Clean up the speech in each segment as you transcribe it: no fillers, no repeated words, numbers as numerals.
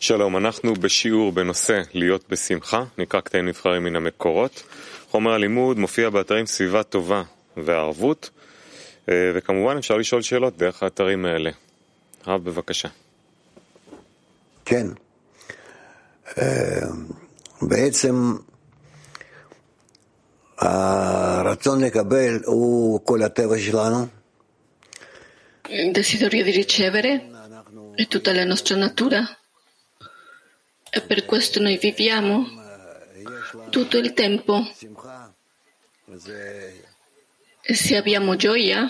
שלום, אנחנו בשיעור בנושא להיות בשמחה, נקרא קטעים נבחרים מן המקורות. חומר הלימוד מופיע באתרים סביבה טובה והערבות, וכמובן אפשר לשאול שאלות דרך האתרים האלה. רב, בבקשה. כן. בעצם הרצון לקבל הוא כל הטבע שלנו. Il desiderio di ricevere è tutta la nostra natura e per questo noi viviamo tutto il tempo. E se abbiamo gioia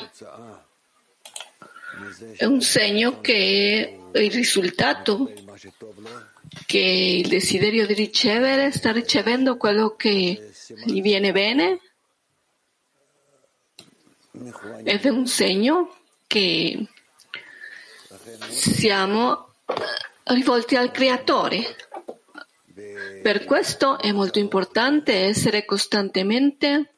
è un segno che è il risultato che il desiderio di ricevere sta ricevendo quello che gli viene bene ed è un segno che siamo rivolti al Creatore. Per questo è molto importante essere costantemente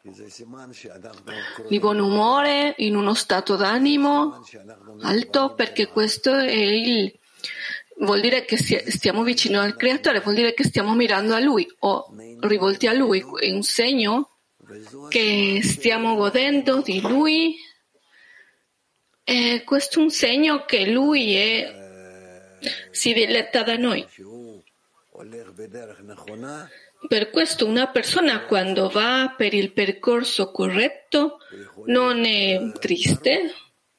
di buon umore, in uno stato d'animo alto, perché questo è vuol dire che stiamo vicino al Creatore, vuol dire che stiamo mirando a Lui o rivolti a Lui. È un segno che stiamo godendo di Lui e questo è un segno che Lui si diletta da noi. Per questo una persona quando va per il percorso corretto non è triste,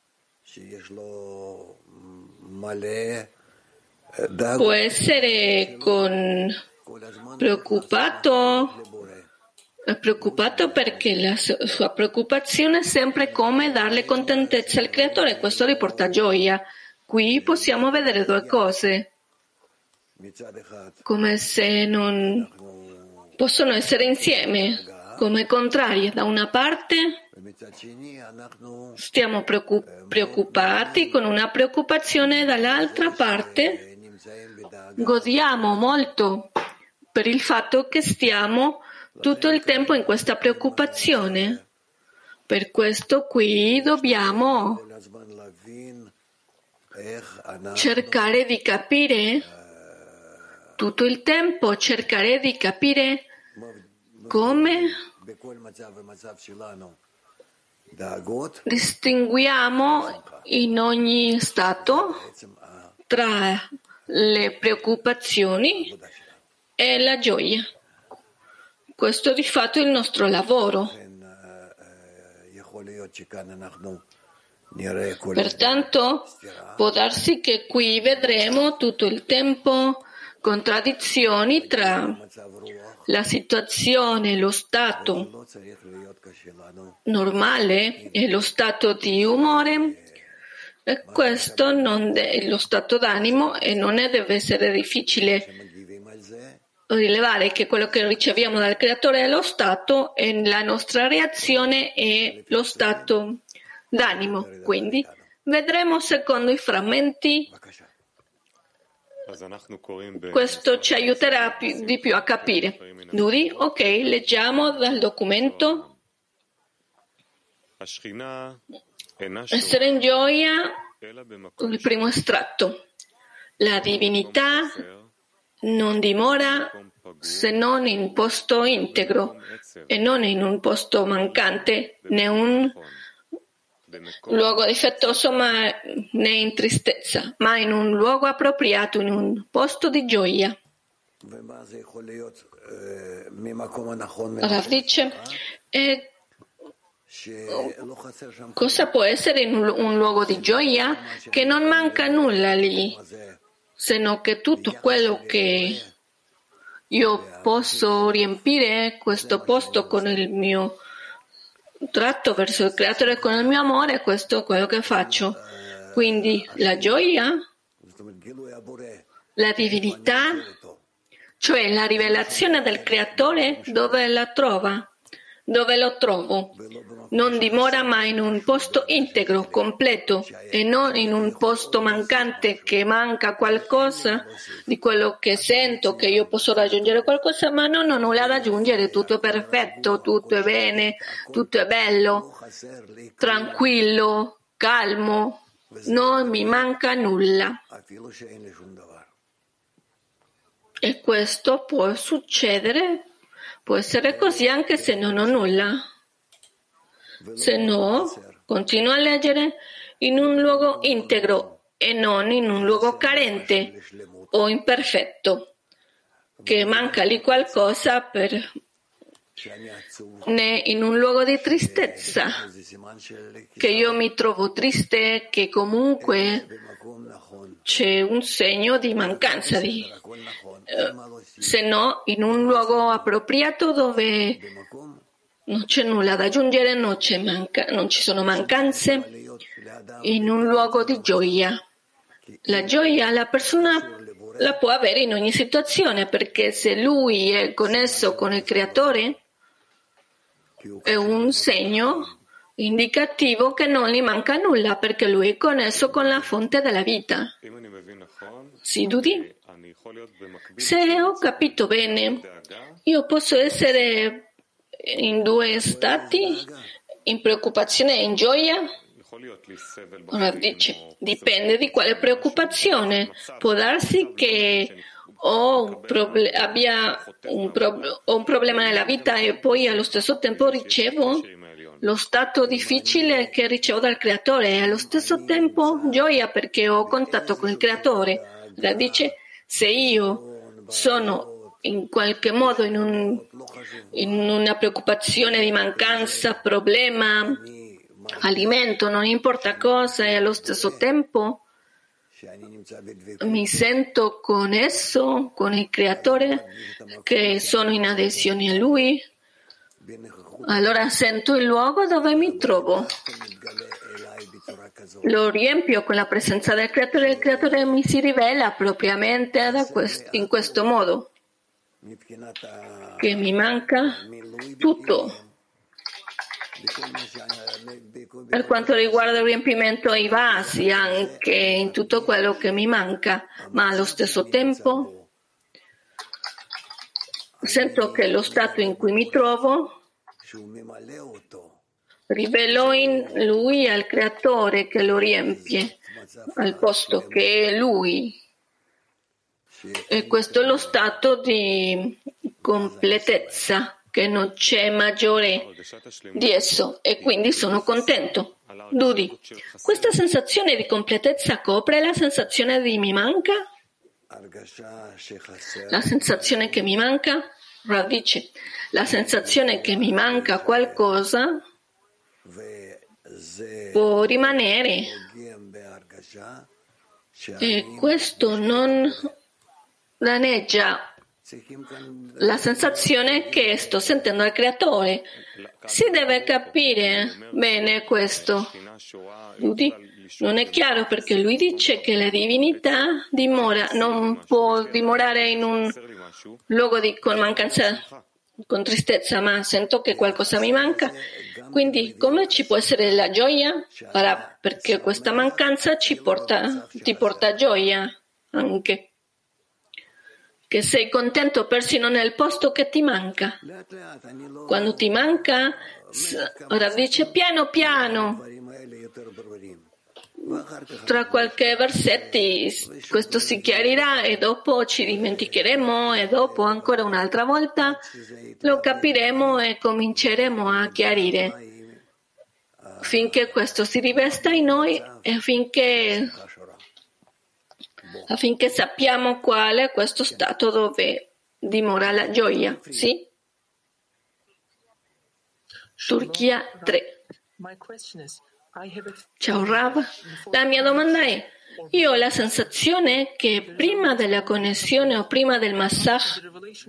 può essere preoccupato perché la sua preoccupazione è sempre come darle contentezza al Creatore, questo gli porta gioia. Qui possiamo vedere due cose, come se non possono essere insieme, come contrarie. Da una parte stiamo preoccupati con una preoccupazione, dall'altra parte godiamo molto per il fatto che stiamo tutto il tempo in questa preoccupazione. Per questo qui dobbiamo cercare di capire tutto il tempo, cercare di capire come distinguiamo in ogni stato tra le preoccupazioni e la gioia. Questo di fatto è il nostro lavoro. Pertanto può darsi che qui vedremo tutto il tempo contraddizioni tra la situazione, lo stato normale e lo stato di umore, e questo non è lo stato d'animo e non deve essere difficile rilevare che quello che riceviamo dal Creatore è lo stato e la nostra reazione è lo stato d'animo. Quindi vedremo secondo i frammenti. Questo ci aiuterà di più a capire. Nudi, ok, leggiamo dal documento. Essere in gioia, il primo estratto. La divinità non dimora se non in posto integro e non in un posto mancante, né un luogo difettoso né in tristezza, ma in un luogo appropriato, in un posto di gioia. Rav dice, cosa può essere in un luogo di gioia? Che non manca nulla lì, se non che tutto quello che io posso riempire questo posto con il mio tratto verso il Creatore, con il mio amore, questo è quello che faccio. Quindi la gioia, la divinità, cioè la rivelazione del Creatore, dove la trova? Dove lo trovo? Non dimora mai in un posto integro, completo, e non in un posto mancante che manca qualcosa di quello che sento, che io posso raggiungere qualcosa, ma non ho nulla da aggiungere, tutto è perfetto, tutto è bene, tutto è bello, tranquillo, calmo, non mi manca nulla. E questo può succedere, può essere così anche se non ho nulla. Se no, continuo a leggere in un luogo integro e non in un luogo carente o imperfetto, che manca lì qualcosa né in un luogo di tristezza, che io mi trovo triste, che comunque c'è un segno di mancanza se no in un luogo appropriato dove non c'è nulla da aggiungere, non ci sono mancanze, in un luogo di gioia. La gioia la persona la può avere in ogni situazione, perché se lui è connesso con il Creatore è un segno indicativo che non gli manca nulla, perché lui è connesso con la fonte della vita. Sì, Dudi? Se ho capito bene, io posso essere in due stati, in preoccupazione e in gioia? Ora dice, dipende di quale preoccupazione. Può darsi che abbia un problema nella vita e poi allo stesso tempo ricevo lo stato difficile che ricevo dal Creatore e allo stesso tempo gioia perché ho contatto con il Creatore. Ora dice, se io sono in qualche modo in una preoccupazione di mancanza, problema, alimento, non importa cosa, e allo stesso tempo mi sento con esso, con il Creatore, che sono in adesione a Lui, allora sento il luogo dove mi trovo, lo riempio con la presenza del Creatore e il Creatore mi si rivela propriamente in questo modo, che mi manca tutto. Per quanto riguarda il riempimento ai vasi, anche in tutto quello che mi manca, ma allo stesso tempo sento che lo stato in cui mi trovo rivelo in lui al Creatore che lo riempie, al posto che è lui. E questo è lo stato di completezza, che non c'è maggiore di esso, e quindi sono contento. Dudi, questa sensazione di completezza copre la sensazione di mi manca? La sensazione che mi manca? Rav dice, la sensazione che mi manca qualcosa può rimanere, e questo non danneggia la sensazione che sto sentendo al Creatore. Si deve capire bene questo. Non è chiaro perché lui dice che la divinità non può dimorare in un luogo con mancanza, con tristezza, ma sento che qualcosa mi manca. Quindi come ci può essere la gioia? Ora, perché questa mancanza ti porta gioia anche. Che sei contento persino nel posto che ti manca. Quando ti manca, ora dice piano piano, tra qualche versetti questo si chiarirà e dopo ci dimenticheremo e dopo ancora un'altra volta lo capiremo e cominceremo a chiarire finché questo si rivesta in noi e affinché sappiamo qual è questo stato dove dimora la gioia. Sì? Turchia 3. Ciao Rav, la mia domanda è, io ho la sensazione che prima della connessione o prima del massage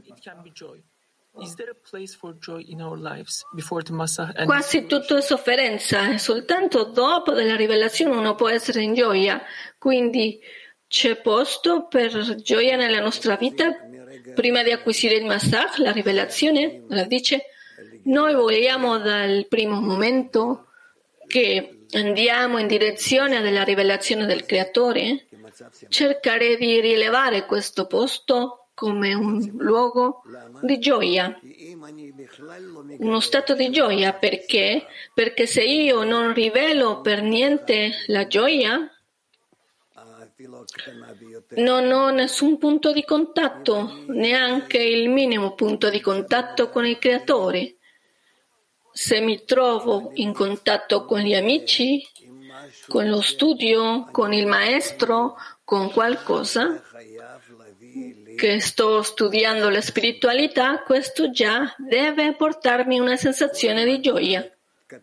quasi tutto è sofferenza e soltanto dopo della rivelazione uno può essere in gioia, quindi c'è posto per gioia nella nostra vita prima di acquisire il massage, la rivelazione? La dice, noi vogliamo dal primo momento che andiamo in direzione della rivelazione del Creatore, cercare di rilevare questo posto come un luogo di gioia, uno stato di gioia. Perché? Perché se io non rivelo per niente la gioia, Non ho nessun punto di contatto, neanche il minimo punto di contatto con il Creatore. Se mi trovo in contatto con gli amici, con lo studio, con il maestro, con qualcosa che sto studiando la spiritualità, questo già deve portarmi una sensazione di gioia.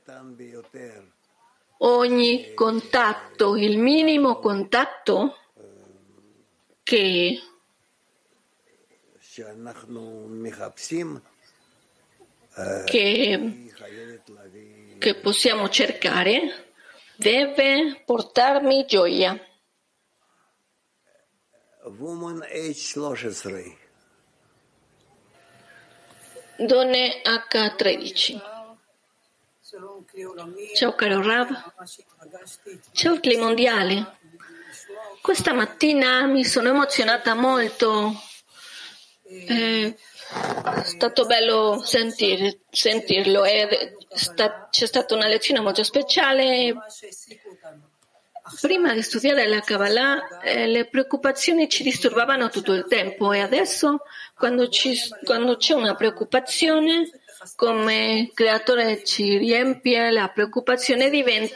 Ogni contatto, il minimo contatto che possiamo cercare deve portarmi gioia. Donne H13. Ciao caro Rav. Ciao Cli Mondiale. Questa mattina mi sono emozionata molto. È stato bello sentirlo. C'è stata una lezione molto speciale. Prima di studiare la Kabbalah le preoccupazioni ci disturbavano tutto il tempo e adesso quando c'è una preoccupazione, come il Creatore ci riempie, la preoccupazione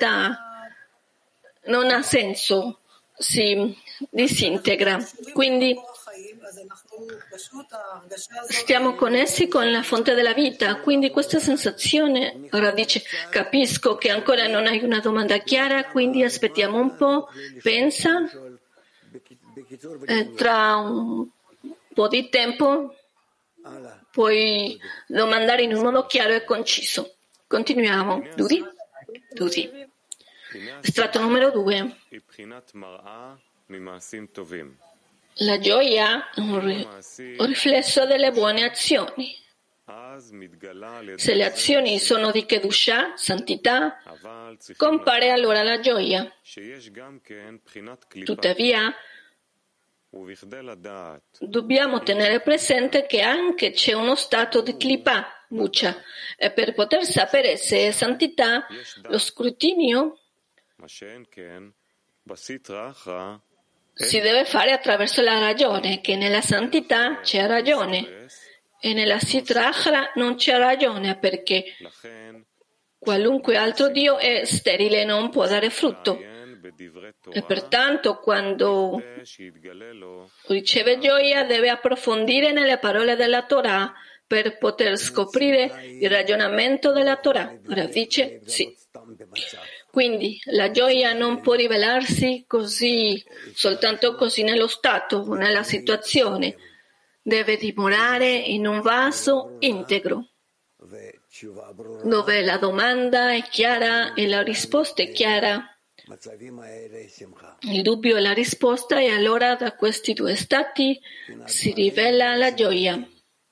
non ha senso, si disintegra. Quindi stiamo connessi con la fonte della vita, quindi questa sensazione, ora dice, capisco che ancora non hai una domanda chiara, quindi aspettiamo un po', pensa, tra un po' di tempo puoi domandare in un modo chiaro e conciso. Continuiamo. Dudi? Estratto numero 2. La gioia è un riflesso delle buone azioni. Se le azioni sono di Kedushah, santità, compare allora la gioia. Tuttavia, dobbiamo tenere presente che anche c'è uno stato di Klipa, buccia, e per poter sapere se è santità, lo scrutinio si deve fare attraverso la ragione, che nella santità c'è ragione e nella Sitra Achra non c'è ragione perché qualunque altro Dio è sterile e non può dare frutto. E pertanto quando riceve gioia deve approfondire nelle parole della Torah per poter scoprire il ragionamento della Torah. Ora dice sì. Quindi la gioia non può rivelarsi così, soltanto così nello stato, nella situazione. Deve dimorare in un vaso integro, dove la domanda è chiara e la risposta è chiara. Il dubbio e la risposta, e allora da questi due stati si rivela la gioia,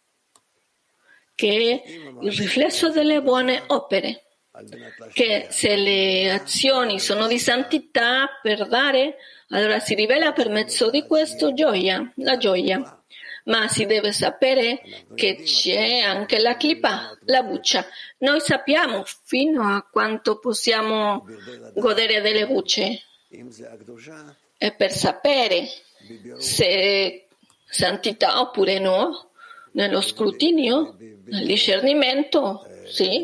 che è il riflesso delle buone opere. Che se le azioni sono di santità per dare, allora si rivela per mezzo di questo la gioia. Ma si deve sapere che c'è anche la clipa, la buccia. Noi sappiamo fino a quanto possiamo godere delle bucce. E per sapere se santità oppure no, nello scrutinio, nel discernimento, sì.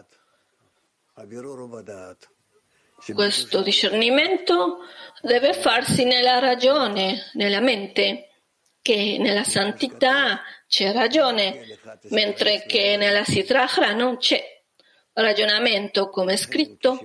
Questo discernimento deve farsi nella ragione, nella mente, che nella santità c'è ragione, mentre che nella Sitra Achra non c'è ragionamento, come è scritto,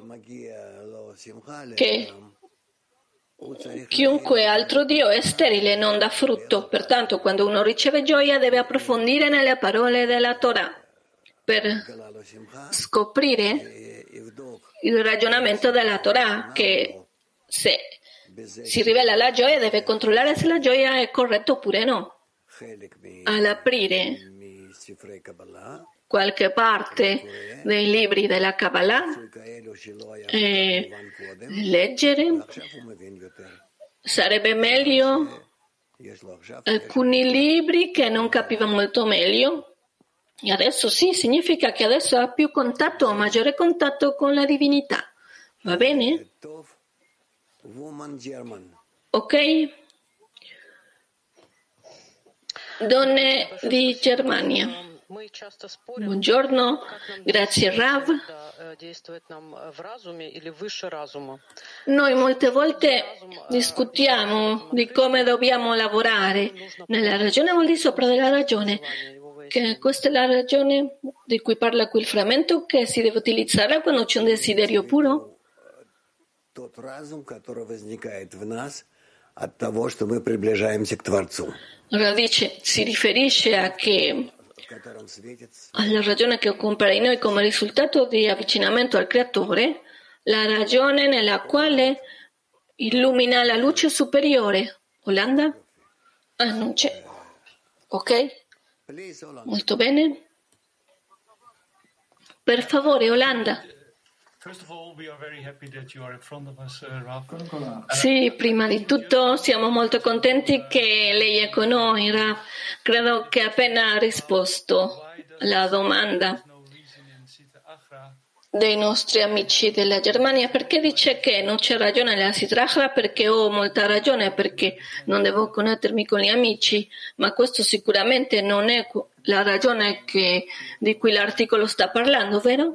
che chiunque altro Dio è sterile e non dà frutto. Pertanto, quando uno riceve gioia, deve approfondire nelle parole della Torah per scoprire il ragionamento della Torah, che se si rivela la gioia deve controllare se la gioia è corretta oppure no. All'aprire qualche parte dei libri della Kabbalah e leggere, sarebbe meglio alcuni libri che non capiva molto meglio. E adesso sì, significa che adesso ha più contatto o maggiore contatto con la divinità. Va bene? Ok? Donne di Germania. Buongiorno, grazie Rav. Noi molte volte discutiamo di come dobbiamo lavorare nella ragione o al di sopra della ragione. Che questa è la ragione di cui parla qui il frammento, che si deve utilizzare quando c'è un desiderio puro. Radice si riferisce alla ragione che compare in noi come risultato di avvicinamento al Creatore, la ragione nella quale illumina la luce superiore. Olanda? Non c'è. Ok? Molto bene. Per favore, Olanda. Sì, prima di tutto siamo molto contenti che lei è con noi, Rav. Credo che appena ha risposto alla domanda dei nostri amici della Germania, perché dice che non c'è ragione nella Sitrachra, perché ho molta ragione, perché non devo connettermi con gli amici, ma questo sicuramente non è la ragione di cui l'articolo sta parlando, vero?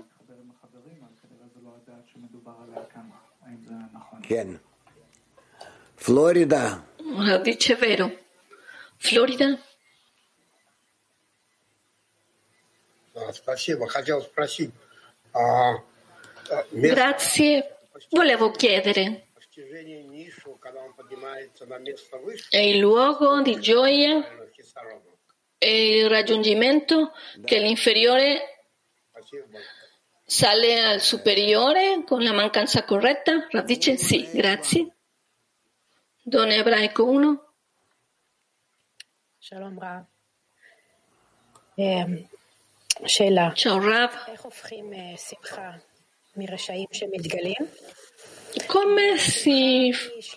Florida. Dice vero. Florida? Grazie. Volevo chiedere, è il luogo di gioia e il raggiungimento che l'inferiore sale al superiore con la mancanza corretta? Rav dice sì, grazie. Don Ebraico 1. Shalom Rav. Ciao Rav. Come si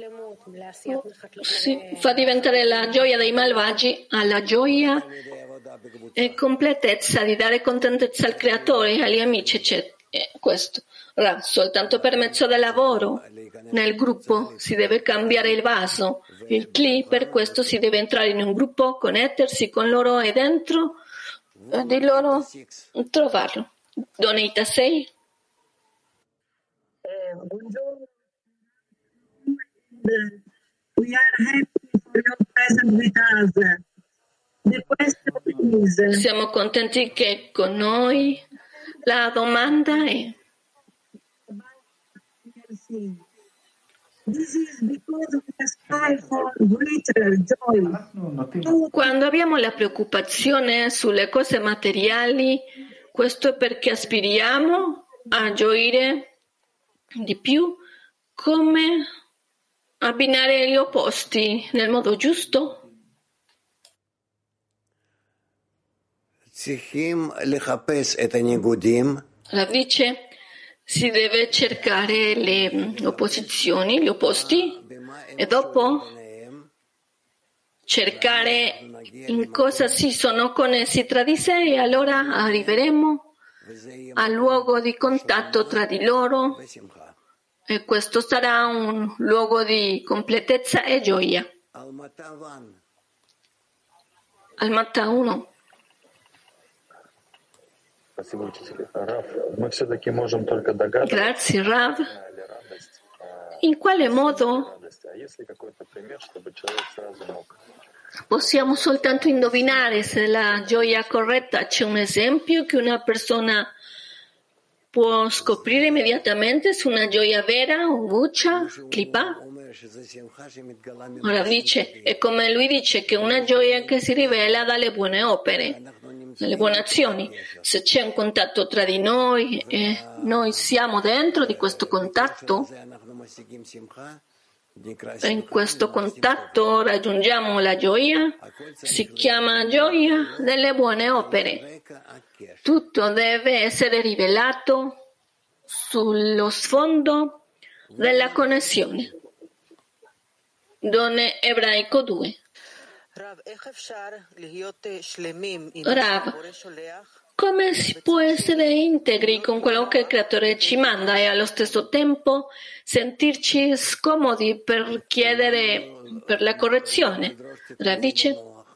fa diventare la gioia dei malvagi alla gioia e completezza di dare contentezza al Creatore, agli amici, eccetera? Questo, Rav, soltanto per mezzo del lavoro nel gruppo si deve cambiare il vaso, il cli, per questo si deve entrare in un gruppo, connettersi con loro e dentro di loro trovarlo. Donita 6. Buongiorno. We are happy for your presence with us. The question is, siamo contenti che con noi. La domanda è: quando abbiamo la preoccupazione sulle cose materiali, questo è perché aspiriamo a gioire di più? Come abbinare gli opposti nel modo giusto? Rav dice, si deve cercare le opposizioni, gli opposti, e dopo cercare in cosa si sono connessi tra di sé, e allora arriveremo al luogo di contatto tra di loro, e questo sarà un luogo di completezza e gioia. Almata 1. Grazie Rav. In quale modo possiamo soltanto indovinare se la gioia corretta? C'è un esempio che una persona può scoprire immediatamente su una gioia vera o buccia, clipa? Ora dice, è come lui dice che una gioia che si rivela dalle buone opere, dalle buone azioni. Se c'è un contatto tra di noi e noi siamo dentro di questo contatto, e in questo contatto raggiungiamo la gioia, si chiama gioia delle buone opere. Tutto deve essere rivelato sullo sfondo della connessione. Donne Ebraico 2. Rav, come si può essere integri con quello che il Creatore ci manda e allo stesso tempo sentirci scomodi per chiedere per la correzione? Radice,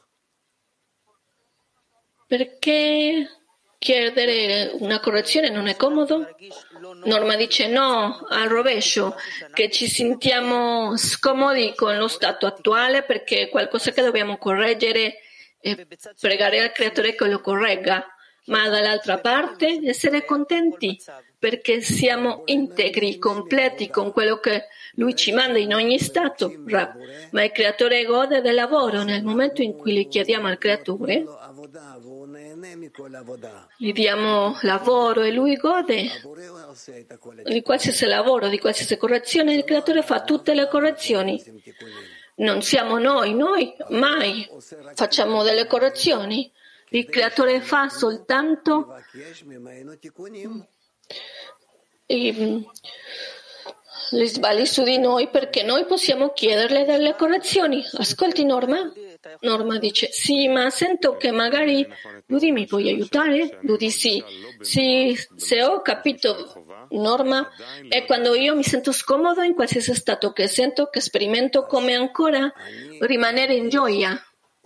perché chiedere una correzione non è comodo? Norma dice no, al rovescio, che ci sentiamo scomodi con lo stato attuale perché è qualcosa che dobbiamo correggere e pregare al Creatore che lo corregga. Ma dall'altra parte essere contenti perché siamo integri, completi con quello che Lui ci manda in ogni stato. Ma il Creatore gode del lavoro. Nel momento in cui gli chiediamo al Creatore, gli diamo lavoro e Lui gode di qualsiasi lavoro, di qualsiasi correzione. Il Creatore fa tutte le correzioni. Non siamo noi mai facciamo delle correzioni. Il Creatore fa soltanto gli sbagli su di noi perché noi possiamo chiederle delle correzioni. Ascolti Norma? Norma dice sì, ma sento che magari Ludi mi puoi aiutare? Ludi sì. Sì, se ho capito Norma, è quando io mi sento scomodo in qualsiasi stato che sento, che sperimento come ancora rimanere in gioia.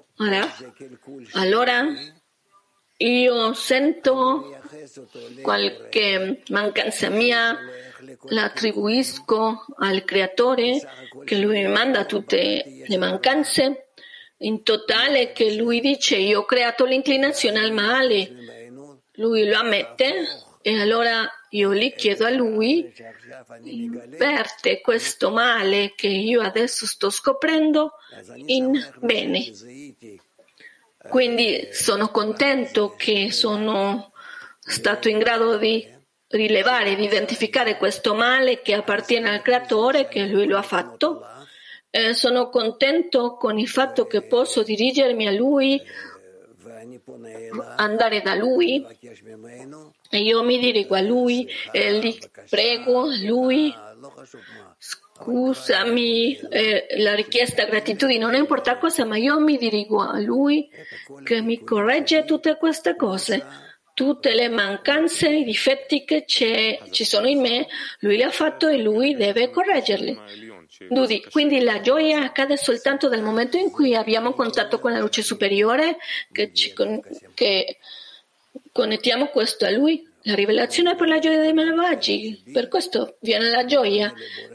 Allora io sento qualche mancanza mia, la attribuisco al Creatore, che Lui mi manda tutte le mancanze, in totale che Lui dice io ho creato l'inclinazione al male, Lui lo ammette e allora io gli chiedo a Lui, inverte questo male che io adesso sto scoprendo in bene. Quindi sono contento che sono stato in grado di rilevare, di identificare questo male che appartiene al Creatore, che Lui lo ha fatto. Sono contento con il fatto che posso dirigermi a Lui, andare da Lui e io mi dirigo a Lui e gli prego a Lui. Scusami, la richiesta gratitudine non importa cosa, ma io mi dirigo a Lui che mi corregge tutte queste cose, tutte le mancanze, i difetti che ci sono in me, Lui li ha fatto e Lui deve correggerli. Quindi la gioia accade soltanto dal momento in cui abbiamo contatto con la luce superiore, che connettiamo questo a Lui. La rivelazione è per la gioia dei malvagi, per questo viene la gioia.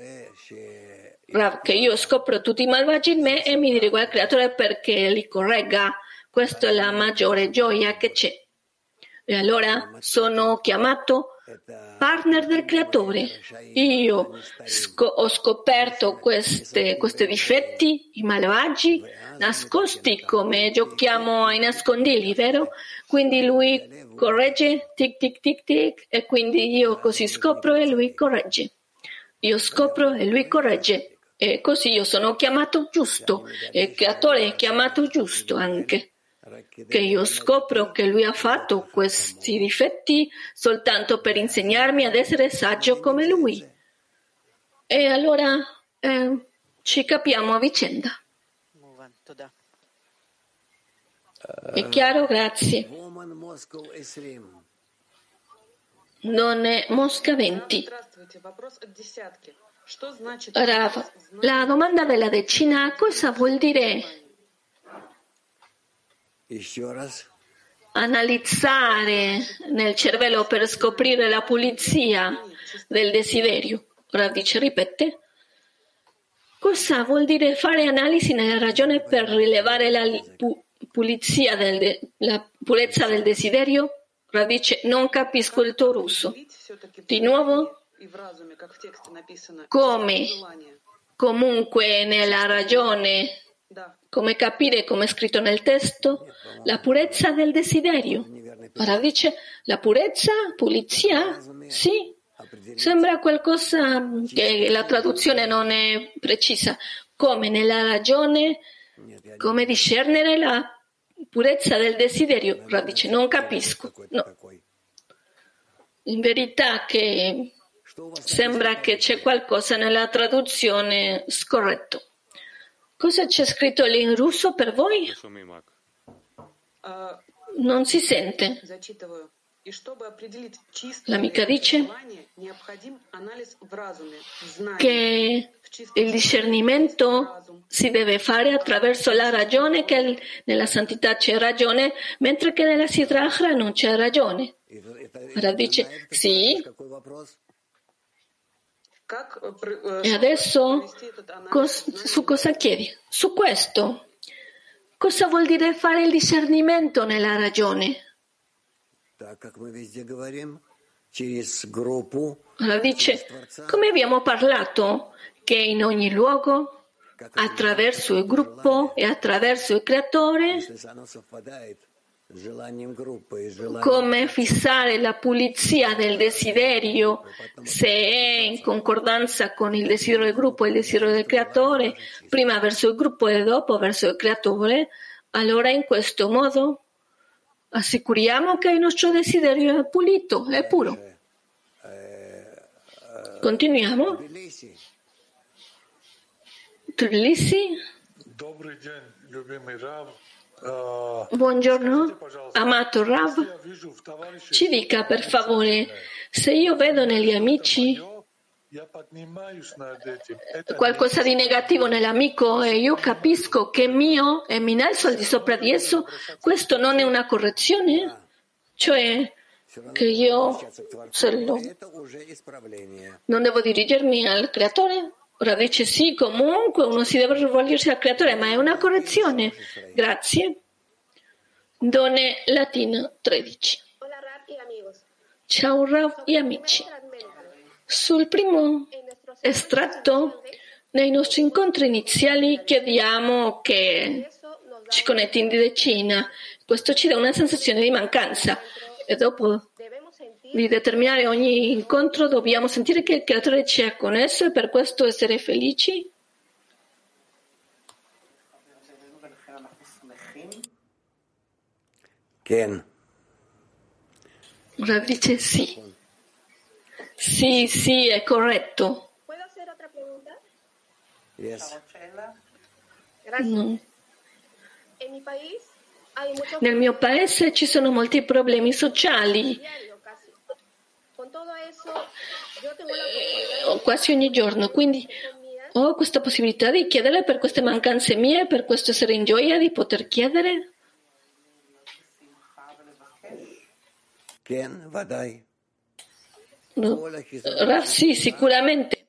Che io scopro tutti i malvagi in me e mi dirigo al Creatore perché li corregga. Questa è la maggiore gioia che c'è. E allora sono chiamato partner del Creatore. Io ho scoperto questi difetti, i malvagi, nascosti come giochiamo ai nascondigli, vero? Quindi lui corregge, tic tic tic tic, e quindi io così scopro e lui corregge. Io scopro e lui corregge. E così io sono chiamato giusto, e il Creatore è chiamato giusto anche, che io scopro che Lui ha fatto questi difetti soltanto per insegnarmi ad essere saggio come Lui. E allora ci capiamo a vicenda. È chiaro? Grazie. Non è Mosca 20. Rav, la domanda della decina, cosa vuol dire analizzare nel cervello per scoprire la pulizia del desiderio? Rav dice, ripete. Cosa vuol dire fare analisi nella ragione per rilevare la pulizia la purezza del desiderio? Rav dice, non capisco il tuo russo. Di nuovo? Come comunque nella ragione, come capire come è scritto nel testo, la purezza del desiderio. Ora dice la purezza, pulizia? Sì, sembra qualcosa che la traduzione non è precisa. Come nella ragione, come discernere la purezza del desiderio. Ora dice non capisco. No. In verità che sembra che c'è qualcosa nella traduzione scorretto. Cosa c'è scritto lì in russo per voi? non si sente. L'amica dice che il discernimento si deve fare attraverso la ragione, che nella santità c'è ragione, mentre che nella Siddhara non c'è ragione. Ora dice sì. E adesso su cosa chiedi? Su questo. Cosa vuol dire fare il discernimento nella ragione? Allora dice, come abbiamo parlato, che in ogni luogo, attraverso il gruppo e attraverso il creatore, come fissare la pulizia del desiderio, se è in concordanza con il desiderio del gruppo e il desiderio del creatore, prima verso il gruppo e dopo verso il creatore, allora in questo modo assicuriamo che il nostro desiderio è pulito, è puro. Continuiamo. Tbilisi. Buongiorno, amato Rav. Ci dica per favore, se io vedo negli amici qualcosa di negativo nell'amico e io capisco che è mio e mi innalzo al di sopra di esso, questo non è una correzione? Cioè che io non devo dirigermi al creatore? Ora dice sì, comunque uno si deve rivolgersi al creatore, ma è una correzione. Grazie. Donne Latina 13. Ciao Rav e amici. Sul primo estratto, nei nostri incontri iniziali chiediamo che ci connetti in decina. Questo ci dà una sensazione di mancanza e dopo di determinare ogni incontro dobbiamo sentire che il creatore ci ha connesso e per questo essere felici. Rav dice sì. Sì, è corretto. Yes. No. Nel mio paese ci sono molti problemi sociali. Quasi ogni giorno, quindi ho questa possibilità di chiedere per queste mancanze mie, per questo essere in gioia di poter chiedere. No. Sì, sicuramente.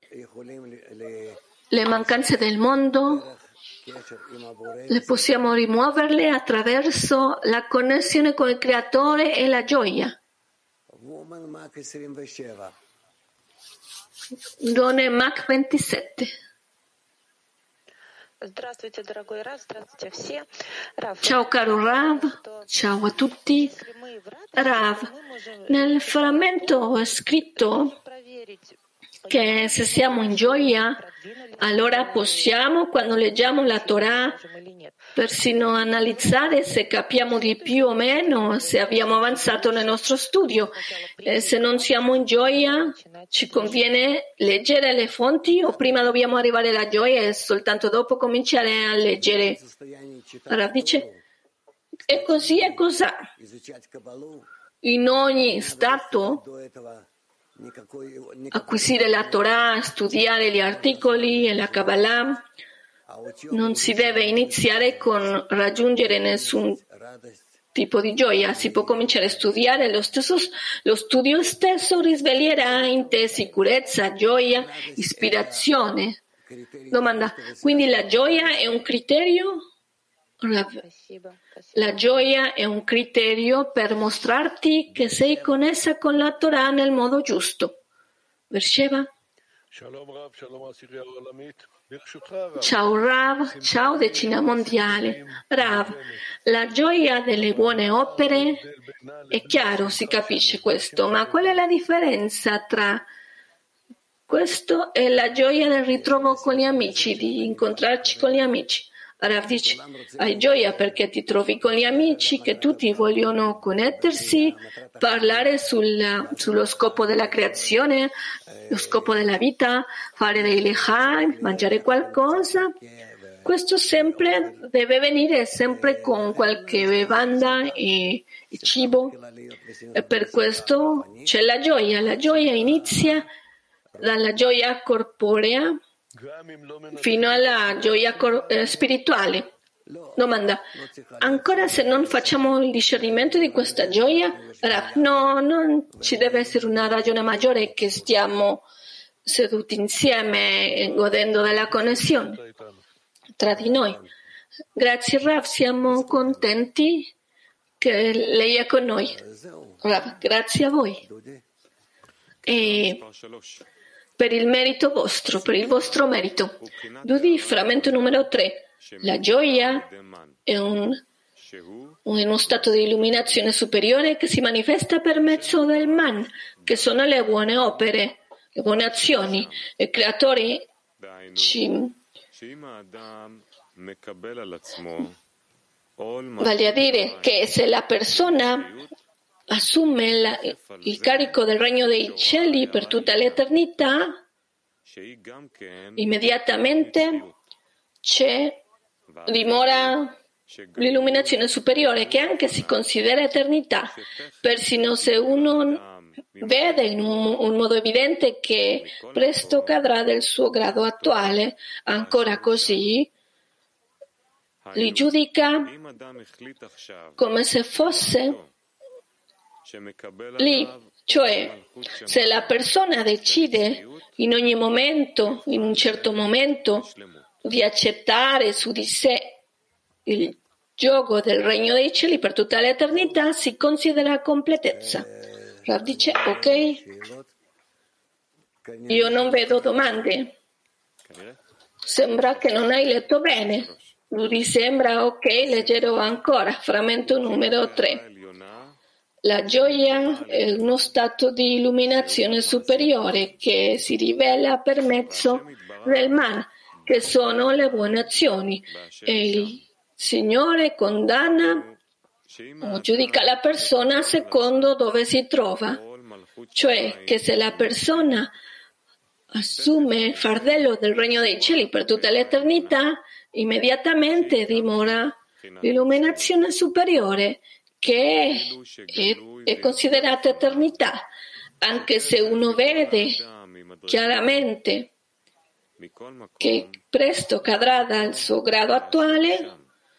Le mancanze del mondo le possiamo rimuoverle attraverso la connessione con il creatore e la gioia. Donne Mac 27. Ciao caro Rav, ciao a tutti. Rav, nel frammento è scritto che se siamo in gioia, allora possiamo, quando leggiamo la Torah, persino analizzare se capiamo di più o meno, se abbiamo avanzato nel nostro studio. E se non siamo in gioia, ci conviene leggere le fonti o prima dobbiamo arrivare alla gioia e soltanto dopo cominciare a leggere? Allora dice, e così è così. In ogni stato acquisire la Torah, studiare gli articoli e la Kabbalah, non si deve iniziare con raggiungere nessun tipo di gioia. Si può cominciare a studiare, lo studio stesso risveglierà in te sicurezza, gioia, ispirazione. Domanda, quindi la gioia è un criterio? La gioia è un criterio per mostrarti che sei connessa con la Torah nel modo giusto. Versheva? Ciao Rav, ciao decina mondiale. Rav, la gioia delle buone opere è chiaro, si capisce questo, ma qual è la differenza tra questo e la gioia del ritrovo con gli amici, di incontrarci con gli amici? Rav dice, hai gioia perché ti trovi con gli amici che tutti vogliono connettersi, parlare sullo scopo della creazione, lo scopo della vita, fare dei lechaim, mangiare qualcosa. Questo sempre deve venire sempre con qualche bevanda e cibo, e per questo c'è la gioia. La gioia inizia dalla gioia corporea fino alla gioia spirituale. Domanda: ancora se non facciamo il discernimento di questa gioia, no, non ci deve essere una ragione maggiore che stiamo seduti insieme godendo della connessione tra di noi. Grazie Rav, siamo contenti che lei è con noi. Rav, grazie a voi. E per il merito vostro, per il vostro merito. Dudi, frammento numero 3. La gioia è uno stato di illuminazione superiore che si manifesta per mezzo del man, che sono le buone opere, le buone azioni. Il Creatore vale a dire che se la persona assume il carico del regno dei cieli per tutta l'eternità, immediatamente dimora l'illuminazione superiore, che anche si considera eternità, persino se uno vede in un modo evidente che presto cadrà del suo grado attuale. Ancora così li giudica come se fosse lì, cioè se la persona decide in ogni momento, in un certo momento, di accettare su di sé il gioco del regno dei cieli per tutta l'eternità, si considera completezza. Rav dice: ok, io non vedo domande, sembra che non hai letto bene. Lui sembra: ok, leggerò ancora. Frammento numero 3. La gioia è uno stato di illuminazione superiore che si rivela per mezzo del man, che sono le buone azioni, e il Signore condanna o giudica la persona secondo dove si trova, cioè che se la persona assume il fardello del regno dei cieli per tutta l'eternità, immediatamente dimora l'illuminazione superiore, che è considerata eternità, anche se uno vede chiaramente che presto cadrà dal suo grado attuale.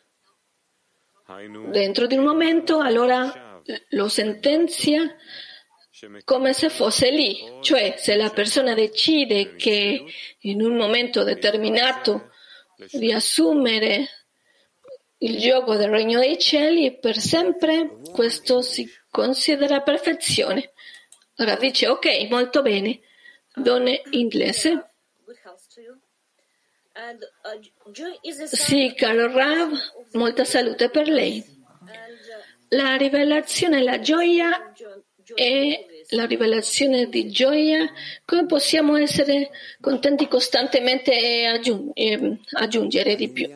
Dentro di un momento, allora lo sentenzia come se fosse lì, cioè se la persona decide che in un momento determinato di assumere il gioco del regno dei cieli per sempre, questo si considera perfezione. Ora dice: ok, molto bene, donne inglese. Sì, caro Rav, molta salute per lei. La rivelazione e la gioia è la rivelazione di gioia. Come possiamo essere contenti costantemente e aggiungere di più?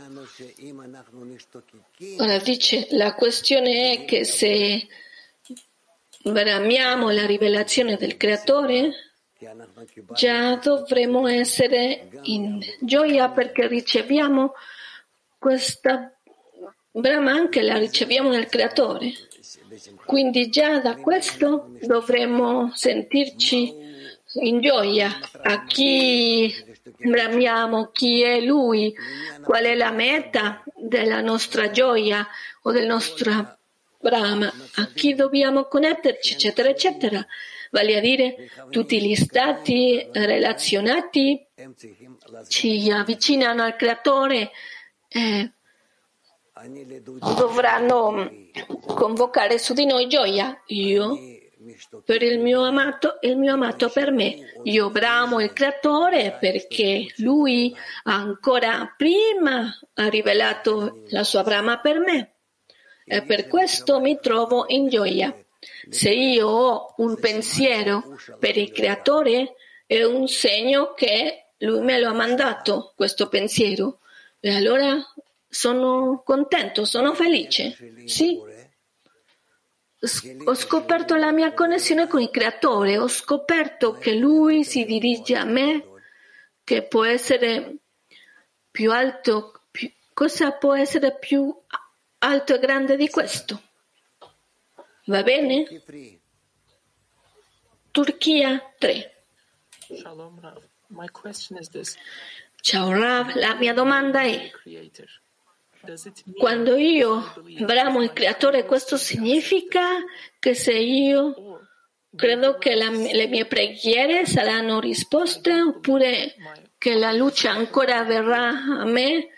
Ora dice: la questione è che se bramiamo la rivelazione del Creatore, già dovremo essere in gioia perché riceviamo questa brama, anche la riceviamo nel Creatore. Quindi già da questo dovremo sentirci in gioia. A chi bramiamo? Chi è Lui? Qual è la meta della nostra gioia o del nostro brama? A chi dobbiamo connetterci, eccetera, eccetera. Vale a dire, tutti gli stati relazionati ci avvicinano al Creatore, dovranno convocare su di noi gioia. Io per il mio amato e il mio amato per me. Io bramo il Creatore perché Lui ancora prima ha rivelato la sua brama per me e per questo mi trovo in gioia. Se io ho un pensiero per il Creatore, è un segno che Lui me lo ha mandato, questo pensiero. E allora sono contento, sono felice. Sì. Ho scoperto la mia connessione con il Creatore, ho scoperto che Lui si dirige a me, che può essere più alto Cosa può essere più alto e grande di questo? Va bene? Turchia 3. Ciao Rav, la mia domanda è: quando io bramo il Creatore, questo significa che se io credo che le mie preghiere saranno risposte, oppure che la luce ancora verrà a me?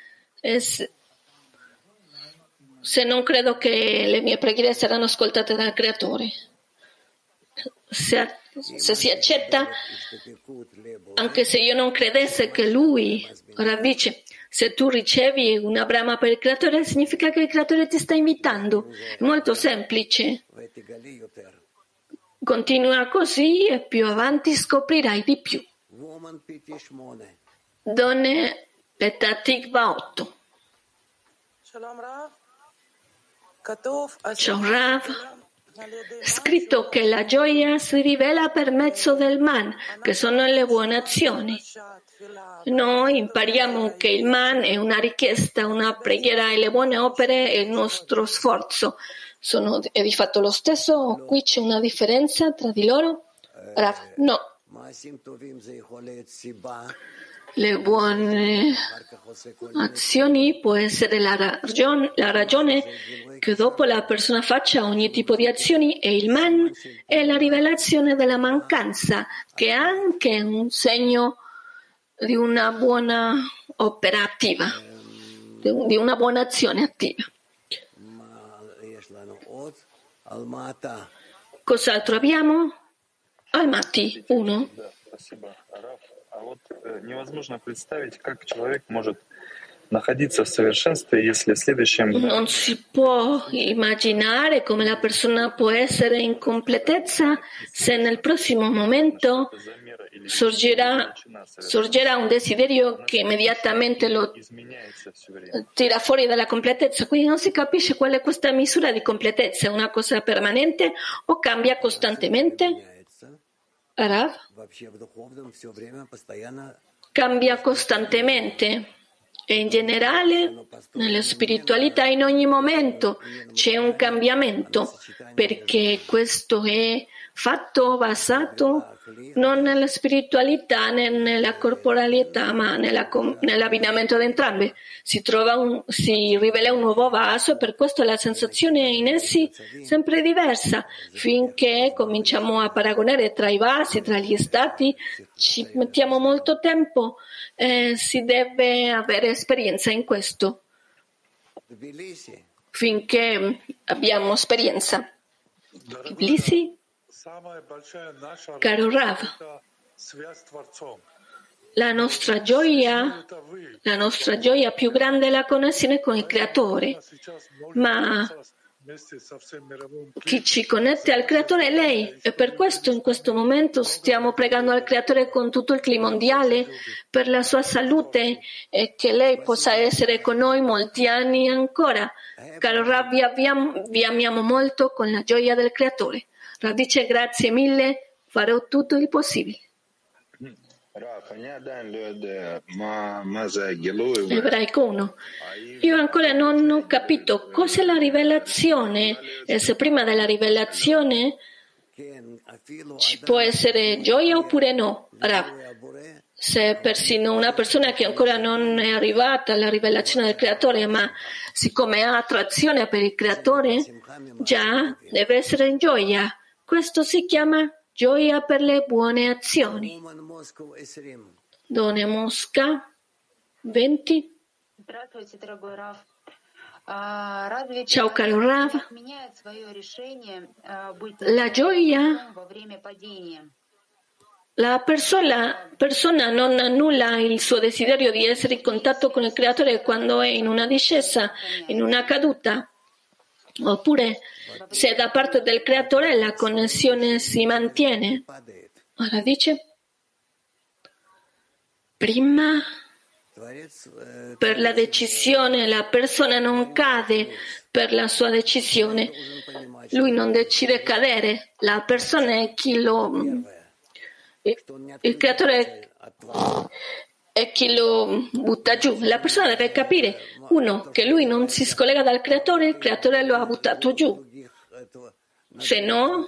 Se non credo che le mie preghiere saranno ascoltate dal Creatore. Se si accetta, anche se io non credesse che Lui, ora dice, se tu ricevi una brama per il Creatore, significa che il Creatore ti sta invitando. È molto semplice. Continua così e più avanti scoprirai di più. Donne Petah Tikva 8. Ciao Rav. Scritto che la gioia si rivela per mezzo del man, che sono le buone azioni. Noi impariamo che il man è una richiesta, una preghiera, e le buone opere è il nostro sforzo. È di fatto lo stesso o qui c'è una differenza tra di loro? Rav, no. Le buone azioni può essere la ragione che dopo la persona faccia ogni tipo di azioni, e il man è la rivelazione della mancanza, che è anche un segno di una buona opera attiva, di una buona azione attiva. Cos'altro abbiamo? Almaty 1. Невозможно представить, как человек может находиться в совершенстве, если в следующем... Non si può immaginare come la persona può essere in completezza se nel prossimo momento sorgerà un desiderio che immediatamente lo tira fuori dalla completezza. Quindi non si capisce qual è questa misura di completezza. È una cosa permanente o cambia costantemente? Rav? Cambia costantemente e in generale nella spiritualità in ogni momento c'è un cambiamento, perché questo è fatto basato non nella spiritualità né nella corporalità, ma nell'abbinamento di entrambe. Si rivela un nuovo vaso, e per questo la sensazione in essi è sempre diversa. Finché cominciamo a paragonare tra i vasi, tra gli stati, ci mettiamo molto tempo. Si deve avere esperienza in questo. Finché abbiamo esperienza. Tbilisi? Caro Rav, la nostra gioia più grande è la connessione con il Creatore, ma chi ci connette al Creatore è lei, e per questo in questo momento stiamo pregando al Creatore con tutto il clima mondiale per la sua salute e che lei possa essere con noi molti anni ancora. Caro Rav, vi amiamo molto con la gioia del Creatore. Rav dice grazie mille, farò tutto il possibile. Ebraico 1. Io ancora non ho capito cos'è la rivelazione, e se prima della rivelazione ci può essere gioia oppure no. Rav, se persino una persona che ancora non è arrivata alla rivelazione del Creatore, ma siccome ha attrazione per il Creatore, già deve essere in gioia. Questo si chiama gioia per le buone azioni. Done Mosca 20. Ciao caro Rav. La gioia, la persona non annulla il suo desiderio di essere in contatto con il Creatore quando è in una discesa, in una caduta, oppure se da parte del Creatore la connessione si mantiene. Ora dice, prima per la decisione la persona non cade per la sua decisione, lui non decide cadere, la persona è chi il Creatore e chi lo butta giù. La persona deve capire, uno, che lui non si scollega dal Creatore, il Creatore lo ha buttato giù. Se no,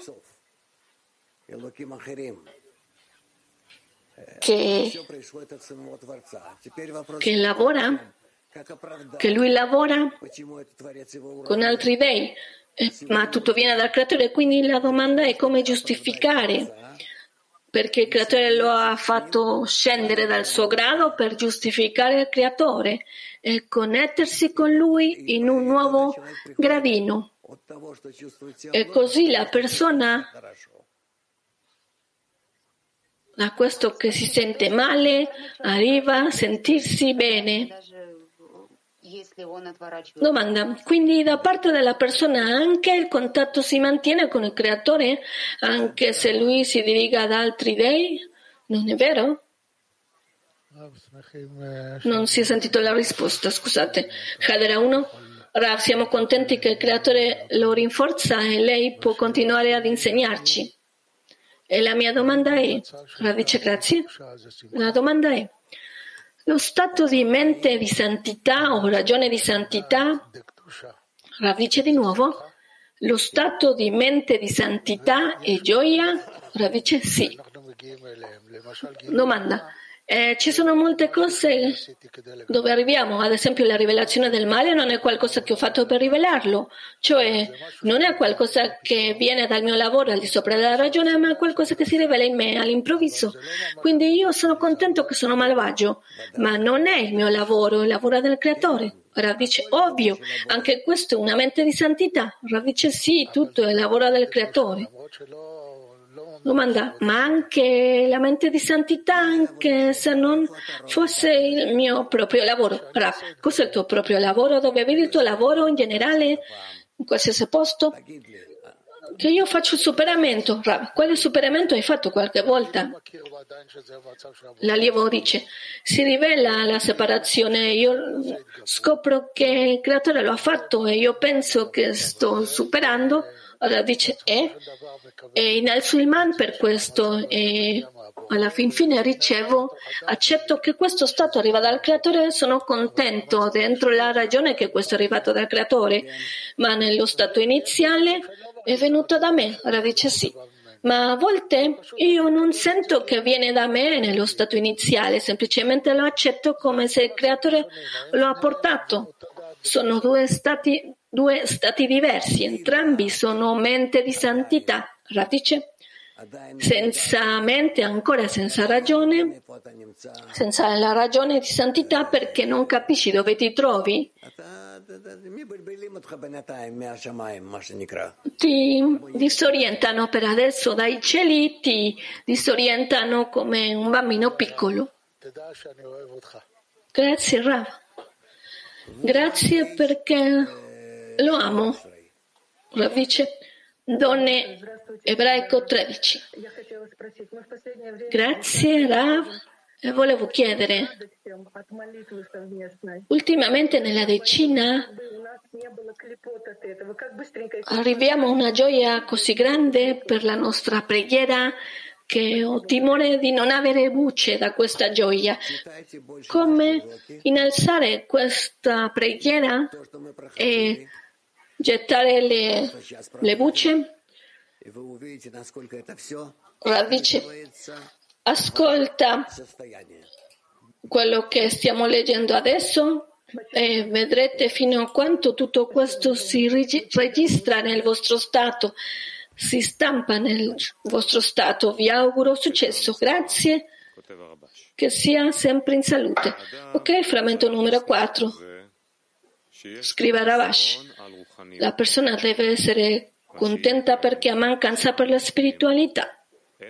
che lavora, che lui lavora con altri dei, ma tutto viene dal Creatore, quindi la domanda è come giustificare, perché il Creatore lo ha fatto scendere dal suo grado per giustificare il Creatore e connettersi con lui in un nuovo gradino. E così la persona, da questo che si sente male, arriva a sentirsi bene. Domanda: quindi da parte della persona anche il contatto si mantiene con il Creatore, anche se lui si dirige ad altri dei? Non è vero? Non si è sentito la risposta, scusate. Hadera 1. Rav, siamo contenti che il Creatore lo rinforza e lei può continuare ad insegnarci. E la mia domanda è, Rav dice grazie, la domanda è, lo stato di mente di santità o ragione di santità, Rav dice di nuovo, lo stato di mente di santità e gioia, Rav dice sì. Domanda. Ci sono molte cose dove arriviamo, ad esempio la rivelazione del male non è qualcosa che ho fatto per rivelarlo, cioè non è qualcosa che viene dal mio lavoro al di sopra della ragione, ma è qualcosa che si rivela in me all'improvviso. Quindi io sono contento che sono malvagio, ma non è il mio lavoro, è il lavoro del Creatore. Rav dice, ovvio, anche questo è una mente di santità. Rav dice sì, tutto è il lavoro del Creatore. Domanda, ma anche la mente di santità, anche se non fosse il mio proprio lavoro? Rav, cos'è il tuo proprio lavoro? Dove vedi il tuo lavoro in generale, in qualsiasi posto? Che io faccio il superamento. Rav, quale superamento hai fatto qualche volta? L'allievo dice, si rivela la separazione, io scopro che il Creatore lo ha fatto e io penso che sto superando. Allora dice, e innalzo il man per questo e alla fin fine accetto che questo stato arriva dal Creatore e sono contento dentro la ragione che questo è arrivato dal Creatore, ma nello stato iniziale è venuto da me. Allora dice sì, ma a volte io non sento che viene da me nello stato iniziale, semplicemente lo accetto come se il Creatore lo ha portato. Sono due stati diversi, entrambi sono mente di santità. Radice, senza mente, ancora senza ragione, senza la ragione di santità, perché non capisci dove ti trovi. Ti disorientano per adesso dai cieli, ti disorientano come un bambino piccolo. Grazie Rav. Grazie perché lo amo. Rav dice, donne ebraico 13. Grazie Rav. E volevo chiedere, ultimamente nella decina arriviamo a una gioia così grande per la nostra preghiera che ho timore di non avere luce da questa gioia. Come innalzare questa preghiera e gettare le bucce? Rav dice, ascolta quello che stiamo leggendo adesso e vedrete fino a quanto tutto questo si registra nel vostro stato, si stampa nel vostro stato. Vi auguro successo. Grazie. Che sia sempre in salute. Ok, frammento numero 4. Scrive Ravash. La persona deve essere contenta perché ha mancanza per la spiritualità,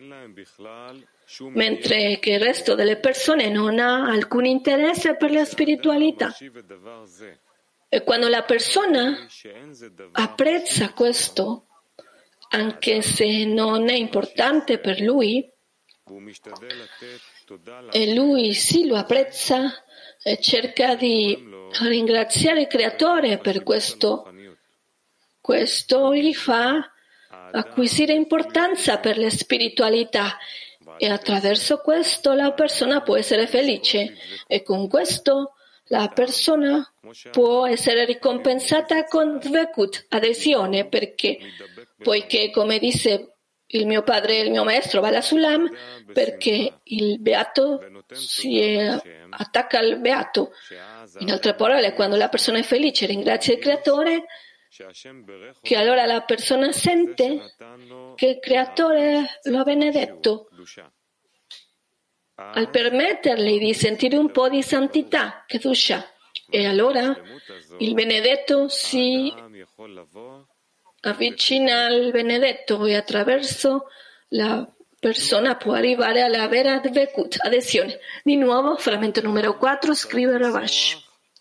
mentre che il resto delle persone non ha alcun interesse per la spiritualità. E quando la persona apprezza questo, anche se non è importante per lui, e lui sì lo apprezza e cerca di ringraziare il Creatore per questo gli fa acquisire importanza per la spiritualità e attraverso questo la persona può essere felice e con questo la persona può essere ricompensata con dvekut, adesione, poiché come disse il mio padre e il mio maestro Bala Sulam, perché il beato si attacca al beato. In altre parole, quando la persona è felice ringrazia il creatore, che allora la persona sente che il creatore lo ha benedetto al permettergli di sentire un po' di santità, Kedusha. E allora il benedetto si avvicina al benedetto e attraverso la persona può arrivare alla vera dvekut, adesione. Di nuovo, frammento numero 4, scrive Ravash.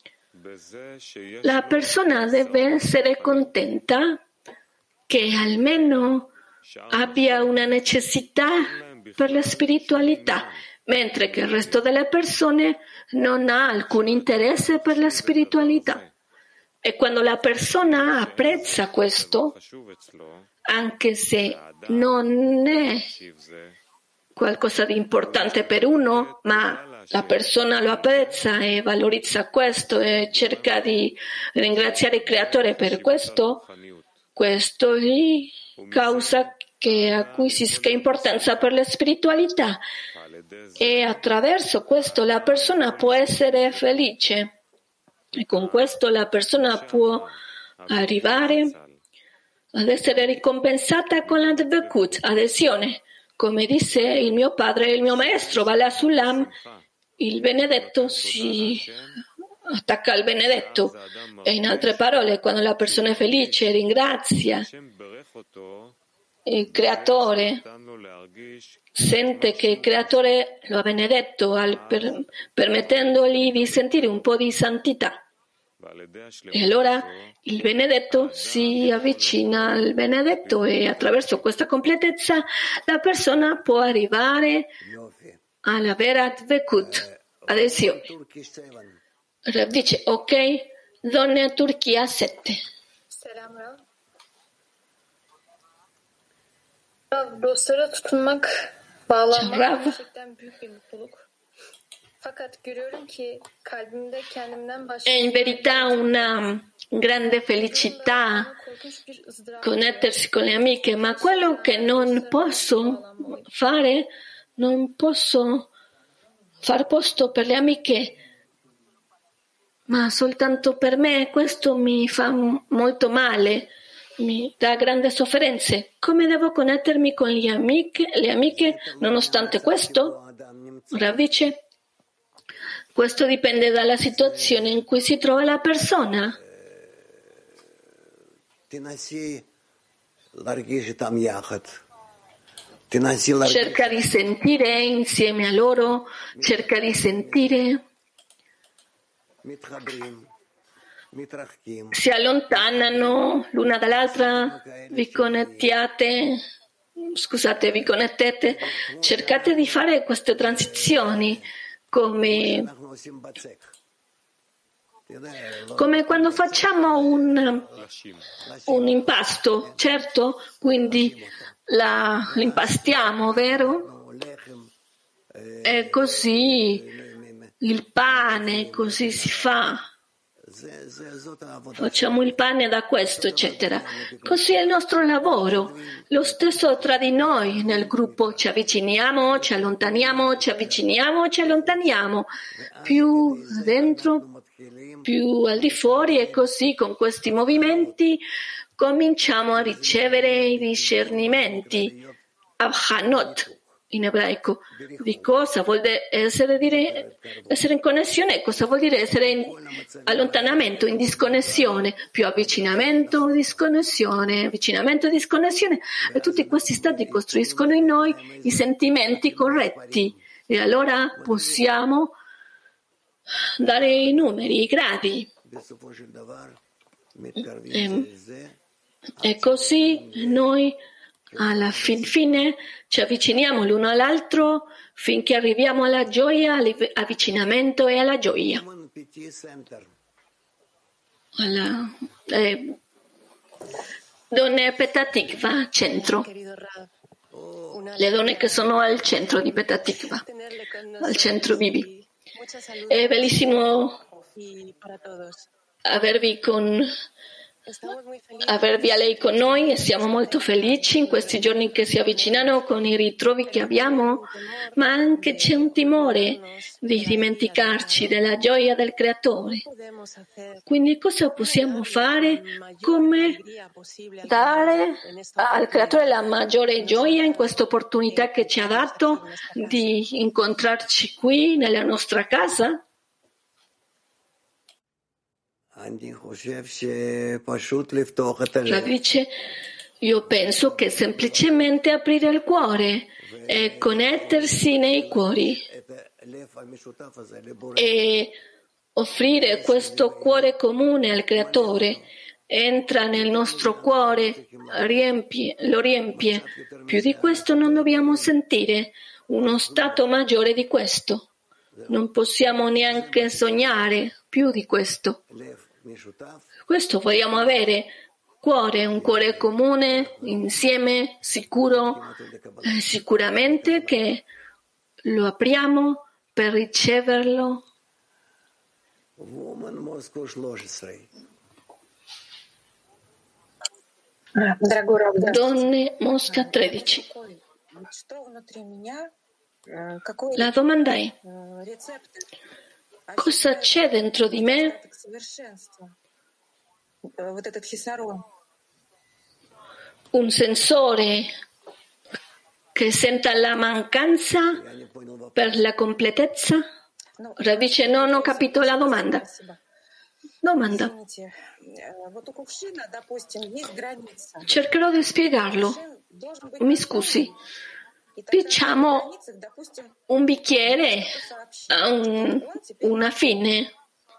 La persona deve essere contenta che almeno abbia una necessità per la spiritualità, mentre che il resto delle persone non ha alcun interesse per la spiritualità. E quando la persona apprezza questo, anche se non è qualcosa di importante per uno, ma la persona lo apprezza e valorizza questo e cerca di ringraziare il creatore per questo, questo gli causa che acquisisca importanza per la spiritualità e attraverso questo la persona può essere felice e con questo la persona può arrivare ad essere ricompensata con la dvekut, adesione. Come disse il mio padre e il mio maestro Bala Sulam, il benedetto si attacca al benedetto. E in altre parole, quando la persona è felice, ringrazia il creatore, sente che il creatore lo ha benedetto permettendogli di sentire un po' di santità. E allora il benedetto si avvicina al benedetto e attraverso questa completezza la persona può arrivare alla vera dvekut, adesione. Rav dice, ok, donne Turchia 7. Selam Rav. Rav, dostlara tutunmak, bağlanmak gerçekten büyük bir mutluluk. Fakat görüyorum ki kalbimde kendimden başka... È in verità una grande felicità connettersi con le amiche, ma quello che non posso fare, non posso far posto per le amiche, ma soltanto per me. Questo mi fa molto male, mi dà grandi sofferenze. Come devo connettermi con le amiche nonostante questo? Rav dice, questo dipende dalla situazione in cui si trova la persona. Cerca di sentire insieme a loro, cerca di sentire. Si allontanano l'una dall'altra, vi connettete, cercate di fare queste transizioni come quando facciamo un impasto, certo? Quindi l'impastiamo, vero? E così il pane, così si fa. Facciamo il pane da questo, eccetera. Così è il nostro lavoro. Lo stesso tra di noi nel gruppo, ci avviciniamo, ci allontaniamo, ci avviciniamo, ci allontaniamo. Più dentro, più al di fuori, e così con questi movimenti cominciamo a ricevere i discernimenti, avhanot in ebraico, di cosa vuol essere in connessione, cosa vuol dire essere in allontanamento, in disconnessione, più avvicinamento, disconnessione, e tutti questi stati costruiscono in noi i sentimenti corretti e allora possiamo dare i numeri, i gradi. E così noi alla fine ci avviciniamo l'uno all'altro finché arriviamo alla gioia, all'avvicinamento e alla gioia. Donne Petatikva, centro. le donne che sono al centro di Petah Tikva, al centro Bibi. È bellissimo avervi a lei con noi e siamo molto felici in questi giorni che si avvicinano con i ritrovi che abbiamo, ma anche c'è un timore di dimenticarci della gioia del Creatore. Quindi cosa possiamo fare? Come dare al Creatore la maggiore gioia in questa opportunità che ci ha dato di incontrarci qui nella nostra casa? Dice, io penso che semplicemente aprire il cuore e connettersi nei cuori e offrire questo cuore comune al Creatore. Entra nel nostro cuore, lo riempie. Più di questo non dobbiamo sentire, uno stato maggiore di questo. Non possiamo neanche sognare più di questo. Questo vogliamo avere, un cuore comune, insieme, sicuro, sicuramente che lo apriamo per riceverlo. Donne Mosca 13. La domanda è: cosa c'è dentro di me? Un sensore che senta la mancanza per la completezza? Dice, non ho capito la domanda. Cercherò di spiegarlo. Mi scusi. Diciamo, un bicchiere ha una fine.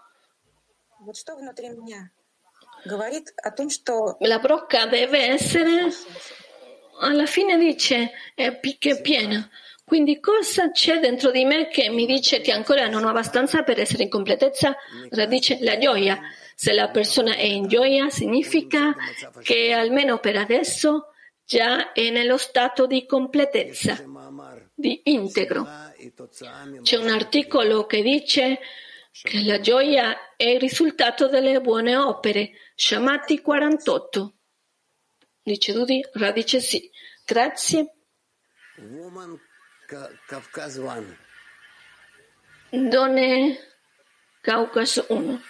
La brocca deve essere, alla fine dice, è piena. Quindi cosa c'è dentro di me che mi dice che ancora non ho abbastanza per essere in completezza? Dice la gioia. Se la persona è in gioia, significa che almeno per adesso già è nello stato di completezza, di integro. C'è un articolo che dice che la gioia è il risultato delle buone opere. Shamati 48. Dice Dudi, dice sì. Grazie. Donne Caucaso 1.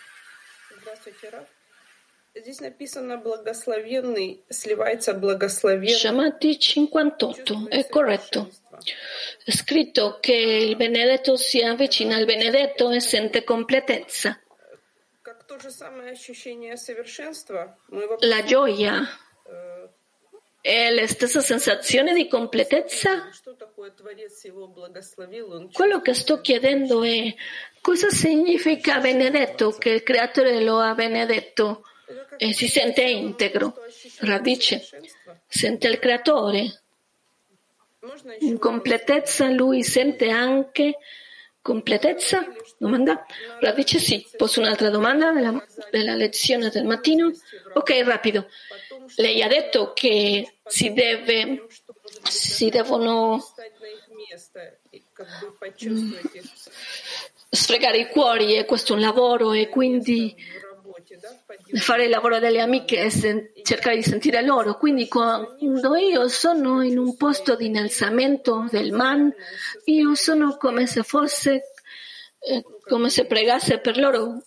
Shamati 58, è corretto. È scritto che il benedetto si avvicina al benedetto e sente completezza. La gioia è la stessa sensazione di completezza? Quello che sto chiedendo è: cosa significa benedetto, che il Creatore lo ha benedetto e si sente integro? Radice, sente il Creatore. In completezza lui sente anche completezza? Domanda? Radice sì. Posso un'altra domanda della lezione del mattino? Ok, rapido. Lei ha detto che si devono sfregare i cuori e questo è un lavoro e quindi fare il lavoro delle amiche e cercare di sentire loro. Quindi quando io sono in un posto di innalzamento del man, io sono come se fosse come se pregasse per loro.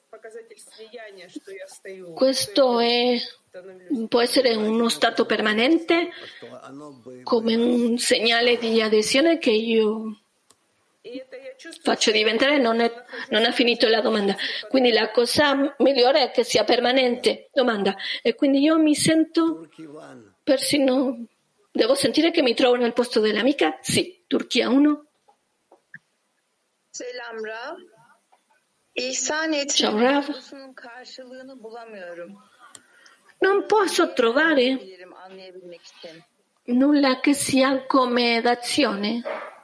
Questo può essere uno stato permanente, come un segnale di adesione che io faccio diventare. Non ha finito la domanda. Quindi la cosa migliore è che sia permanente. Domanda. E quindi io mi sento persino, devo sentire che mi trovo nel posto dell'amica? Sì. Turchia 1. Selam Rav. Ciao Rav. Non posso trovare nulla che sia come d'azione.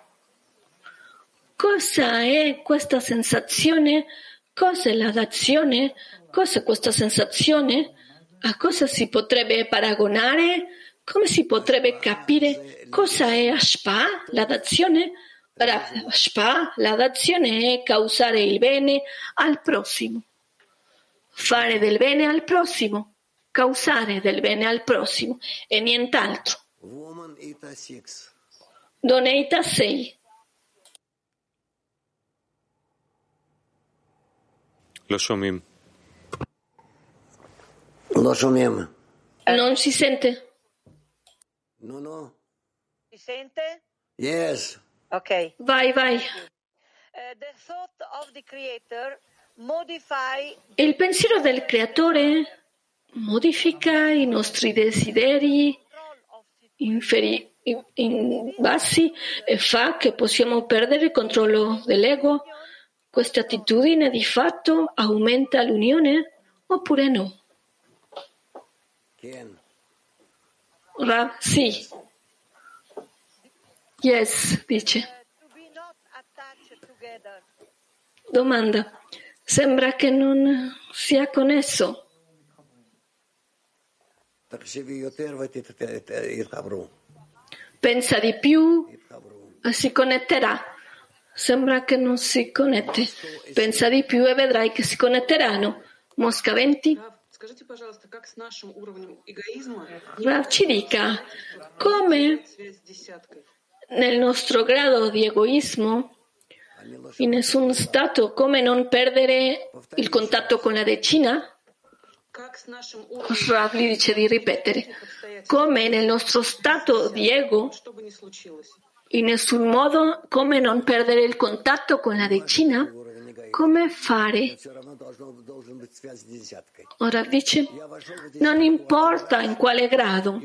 Cosa è questa sensazione? Cosa è la d'azione? Cosa è questa sensazione? A cosa si potrebbe paragonare? come si potrebbe capire cosa è Ashpa, la dazione? Ashpa, la dazione è causare il bene al prossimo, fare del bene al prossimo, causare del bene al prossimo e nient'altro. Doneita 6. לא שומעים. לא שומעים. Non si sente? No. Si sente? Yes. Ok. Vai. The thought of the creator modify. Il pensiero del creatore modifica i nostri desideri bassi e fa che possiamo perdere il controllo dell'ego. Questa attitudine di fatto aumenta l'unione oppure no? Sì. Yes, dice. Domanda. Sembra che non sia connesso. Pensa di più e si connetterà. Sembra che non si connette. Pensa di più e vedrai che si connetteranno. Mosca 20. Rav ci dica come nel nostro grado di egoismo, in nessun stato, come non perdere il contatto con la decina? Rav gli dice di ripetere, come nel nostro stato di ego, in nessun modo, come non perdere il contatto con la decina? Come fare? Ora dice, non importa in quale grado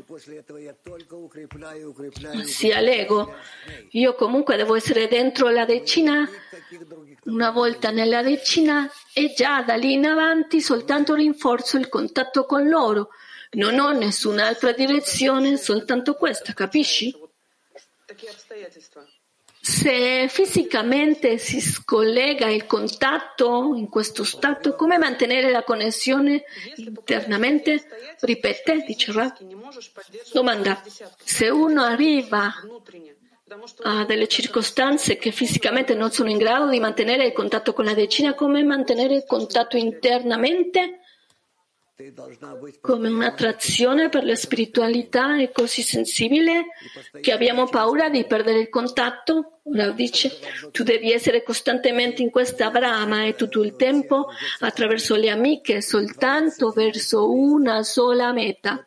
sia l'ego, io comunque devo essere dentro la decina, una volta nella decina e già da lì in avanti soltanto rinforzo il contatto con loro, non ho nessun'altra direzione, soltanto questa, capisci? Se fisicamente si scollega il contatto in questo stato, come mantenere la connessione internamente? Ripete, dice Rav. Domanda. Se uno arriva a delle circostanze che fisicamente non sono in grado di mantenere il contatto con la decina, come mantenere il contatto internamente? Come un'attrazione per la spiritualità è così sensibile che abbiamo paura di perdere il contatto? Rav dice, tu devi essere costantemente in questa brama e tutto il tempo attraverso le amiche soltanto verso una sola meta.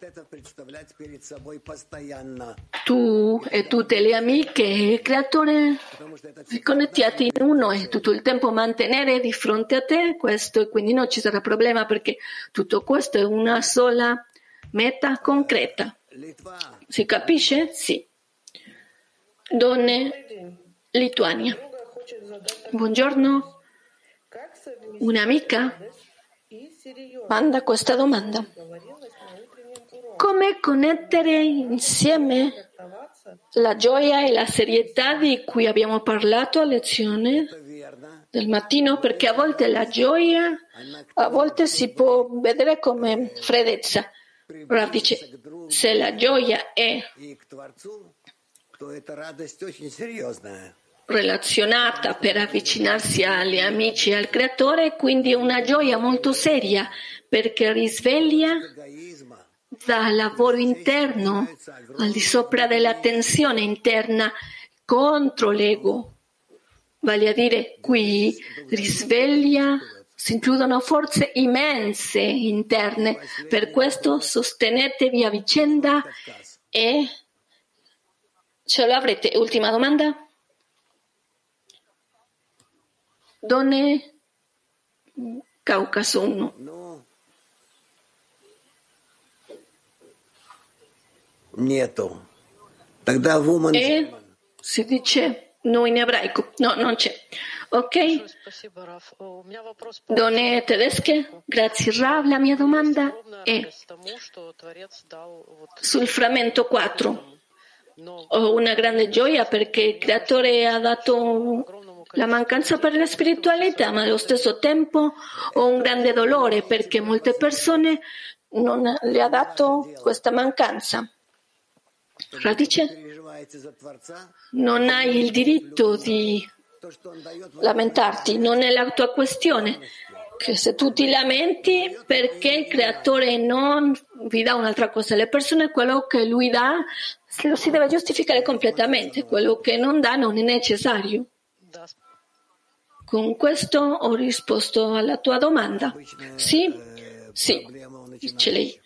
Tu e tutte le amiche e il creatore connettiati in uno e tutto il tempo mantenere di fronte a te questo, e quindi non ci sarà problema perché tutto questo è una sola meta concreta. Si capisce? Sì. Donne, Lituania. Buongiorno. Un'amica manda questa domanda. Come connettere insieme la gioia e la serietà di cui abbiamo parlato a lezione del mattino? Perché a volte la gioia, a volte si può vedere come freddezza. Ora dice, se la gioia è relazionata per avvicinarsi agli amici e al creatore, quindi è una gioia molto seria perché risveglia dal lavoro interno al di sopra della tensione interna contro l'ego, vale a dire qui risveglia, si includono forze immense interne, per questo sostenetevi a vicenda e ce lo avrete. Ultima domanda? Donne Caucaso 1. Nieto. E si dice no in ebraico. No, non c'è. Ok? Donne tedesche? Grazie Rav. La mia domanda è sul frammento 4. Ho una grande gioia perché il creatore ha dato la mancanza per la spiritualità, ma allo stesso tempo ho un grande dolore perché molte persone non le ha dato questa mancanza. Radice, non hai il diritto di lamentarti, non è la tua questione. Che se tu ti lamenti perché il creatore non vi dà un'altra cosa alle persone, quello che lui dà lo si deve giustificare completamente, quello che non dà non è necessario. Con questo ho risposto alla tua domanda. Sì, dice lei.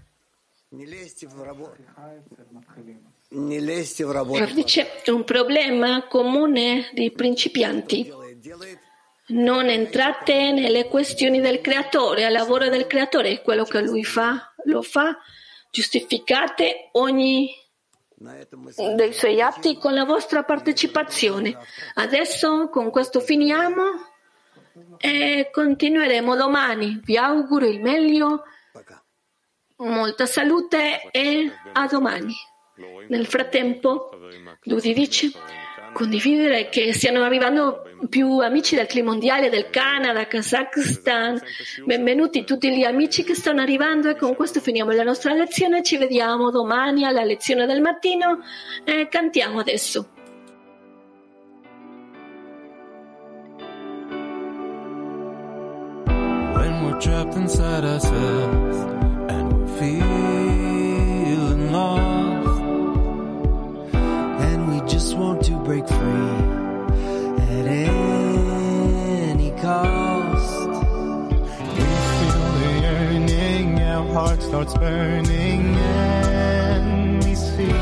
Dice, è un problema comune dei principianti. Non entrate nelle questioni del creatore, al lavoro del creatore, quello che lui fa, lo fa, giustificate ogni dei suoi atti con la vostra partecipazione. Adesso con questo finiamo e continueremo domani. Vi auguro il meglio, molta salute e a domani. Nel frattempo, Ludi dice, condividere che stiano arrivando più amici del clima mondiale, del Canada, Kazakhstan. Benvenuti tutti gli amici che stanno arrivando e con questo finiamo la nostra lezione. Ci vediamo domani alla lezione del mattino e cantiamo adesso. When we're trapped inside ourselves and we're feeling lost and we just want to break free at any cost. We feel the yearning, our heart starts burning, and we see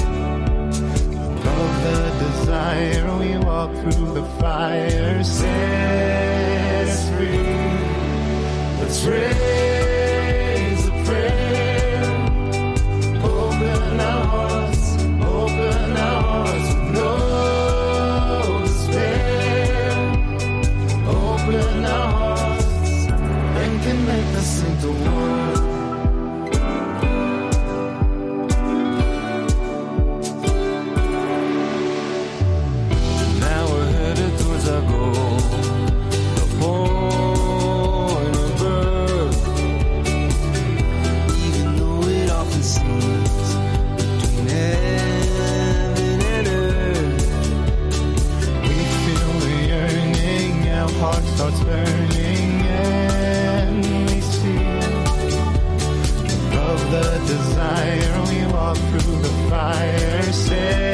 above the desire. We walk through the fire, set us free. Let's raise a prayer, open our hearts with no despair. Open our hearts and connect us into one. Now we're headed towards our goal, the point of birth. Even though it often seems between heaven and earth, we feel the yearning, our heart starts burning, and we see above the desire. We walk through the fire, say